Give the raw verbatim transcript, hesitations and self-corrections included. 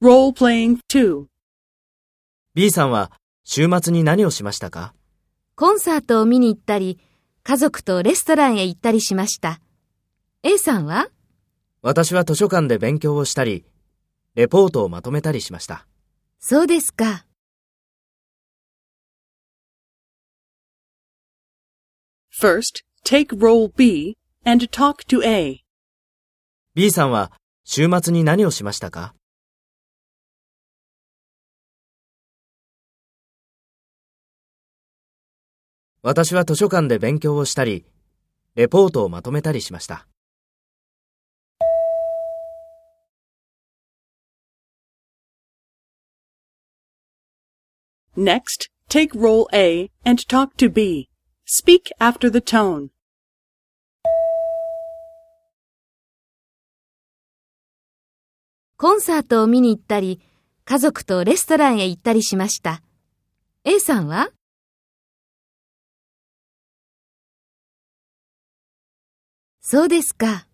Role-playing two. B さんは週末に何をしましたか？ コンサートを見に行ったり、家族とレストランへ行ったりしました。A さんは？ 私は図書館で勉強をしたり、レポートをまとめたりしました。 そうですか。 First, take role B and talk to A. B さんは週末に何をしましたか？私は図書館で勉強をしたり、レポートをまとめたりしました。 Next, take role A and talk to B. Speak after the tone. コンサートを見に行ったり、家族とレストランへ行ったりしました。A さんは？そうですか。